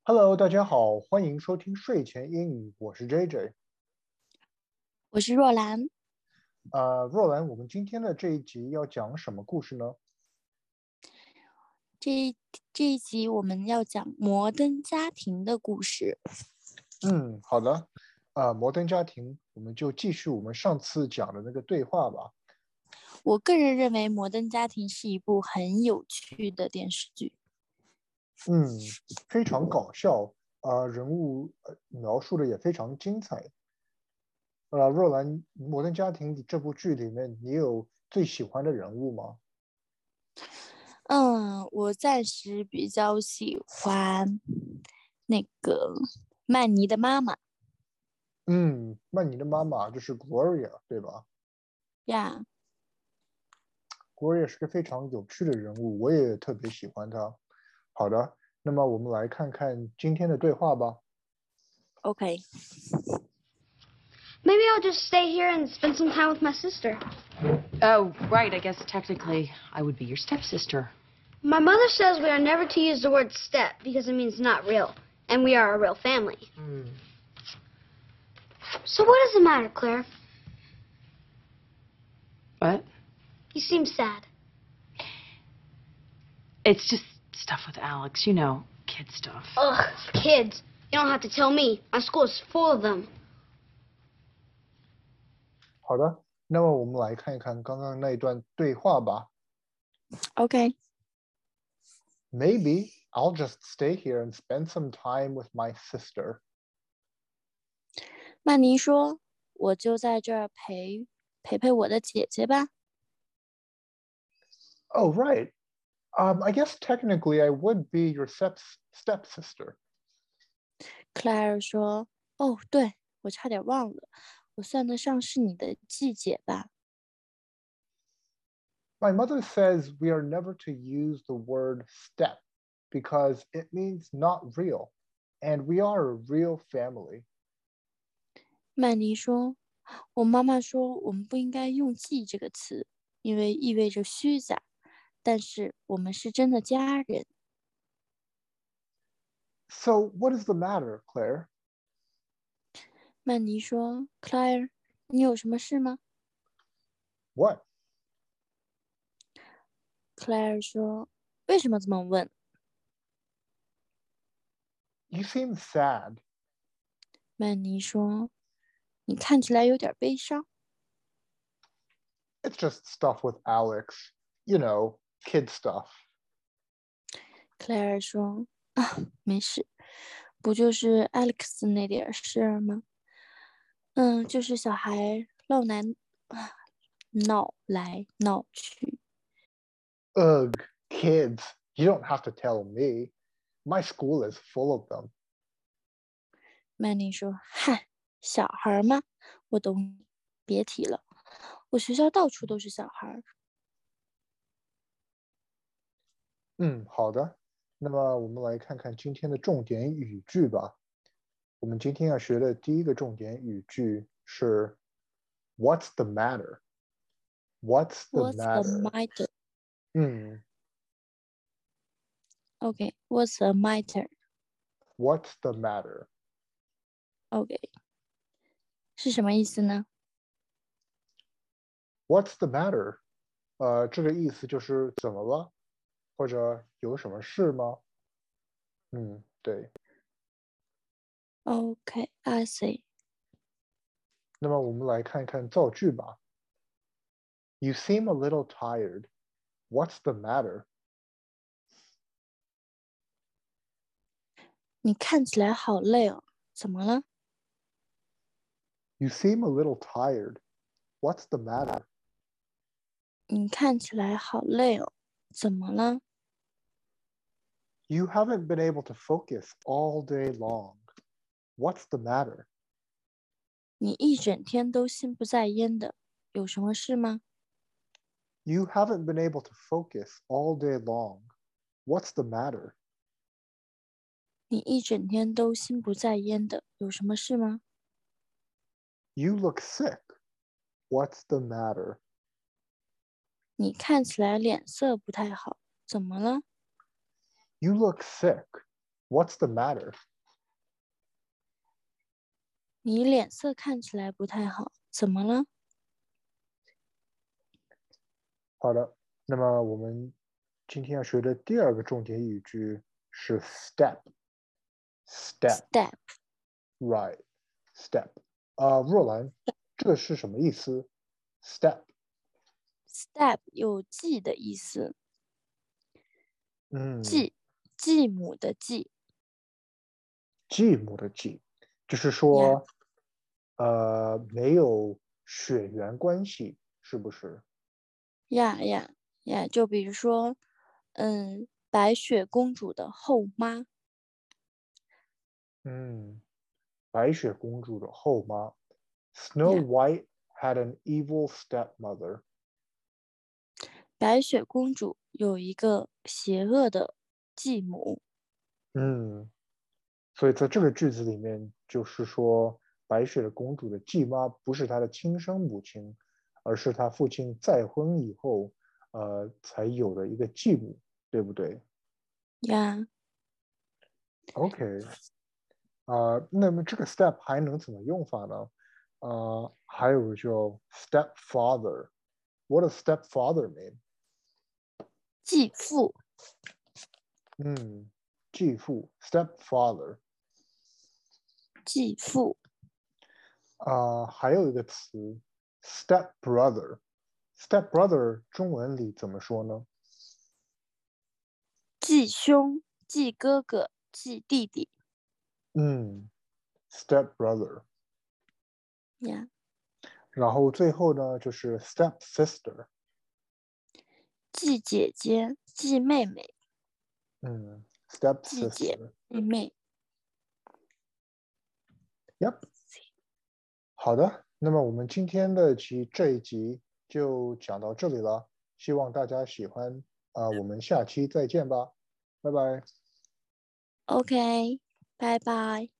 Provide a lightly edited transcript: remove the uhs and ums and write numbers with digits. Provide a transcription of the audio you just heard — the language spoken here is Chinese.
Hello，大家好，欢迎收听睡前英语，我是 JJ。 我是若兰。 若兰，我们今天的这一集要讲什么故事呢？ 这一集我们要讲摩登家庭的故事。 好的。摩登家庭，我们就继续我们上次讲的那个对话吧。 我个人认为《摩登家庭》是一部很有趣的电视剧。 嗯，非常搞笑，人物描述的也非常精彩。若兰，摩登家庭这部剧里面，你有最喜欢的人物吗？ 我暂时比较喜欢那个曼妮的妈妈曼妮的妈妈就是 Gloria，对吧呀。 ？Gloria 是个非常有趣的人物，我也特别喜欢她。好的，那么我们来看看今天的对话吧。 OK， Maybe I'll just stay here and spend some time with my sister. Oh, right. I guess technically I would be your stepsister. My mother says we are never to use the word step because it means not real, and we are a real family. So what does it matter, Claire? What? You seem sad. It's just stuff with Alex, kid stuff. Ugh, kids. You don't have to tell me. My school is full of them. 好的，那么我们来看一看刚刚那一段对话吧。 OK， Maybe I'll just stay here and spend some time with my sister. 曼妮说：“我就在这儿陪我的姐姐吧。” Oh, right. I guess technically I would be your stepsister. 克莱尔说：“哦，对，我差点忘了，我算得上是你的继姐吧。” My mother says we are never to use the word step because it means not real, and we are a real family. 曼妮说：“我妈妈说我们不应该用"继"这个词，因为意味着虚假。但是我们是真的家人。” So what is the matter, Claire? 曼妮说：“Claire，你有什么事吗 What? ？”Claire 说：“为什么这么问 You seem sad. 曼妮说：“你看起来有点悲伤。” It's just stuff with Alex. You know, kid stuff. Claire 说：“啊，没事，不就是 Alex 那点事儿吗？就是小孩闹来闹去。” Ugh, kids. You don't have to tell me. My school is full of them. 曼妮说：“嗨，小孩吗？我懂你，别提了。我学校到处都是小孩。” 好的。那么我们来看看今天的重点语句吧。我们今天要学的第一个重点语句是 "What's the matter?" What's the What's the matter? matter? 嗯 OK, what's the matter? What's the matter? OK, 是什么意思呢？ What's the matter? 这个意思就是怎么了，或者有什么事吗？对。 OK, I see. 那么我们来看看造句吧。You seem a little tired. What's the matter? 你看起来好累哦，怎么了？ You seem a little tired. What's the matter? 你看起来好累哦，怎么了？ You haven't been able to focus all day long. What's the matter? 你一整天都心不在焉的，有什么事吗？ You haven't been able to focus all day long. What's the matter? 你一整天都心不在焉的，有什么事吗？ You look sick. What's the matter? 你看起来脸色不太好，怎么了？ You look sick. What's the matter? 你脸色看起来不太好，怎么了？ 好的，那么我们今天要学的第二个重点语句是 step。Step, Step right, step. 若兰，这是什么意思 ？Step. Step 有记的意思，继母的继。 继母的继，就是说没有血缘关系，是不是？ 呀，就比如说，白雪公主的后妈。 白雪公主的后妈。Snow Yeah. White had an evil stepmother. 白雪公主有一个邪恶的继母。 所以在这个句子里面，就是说白雪公主的继妈不是她的亲生母亲，而是她父亲再婚以后，才有的一个继母，对不对？ 呀， OK，那么这个 step 还能怎么用法呢？还有就 stepfather。What does stepfather mean？ 继父。 继父 stepfather。 继父。 还有一个词 stepbrother。stepbrother 中文里怎么说呢？ 继兄、继哥哥、继弟弟。 stepbrother。 呀， 然后最后呢，就是 stepsister。 继姐姐、继妹妹。继姐、 stepsister。 继妹。 Yep。好的，那么我们今天的这一集就讲到这里了，希望大家喜欢。我们下期再见吧，拜拜。 OK，拜拜。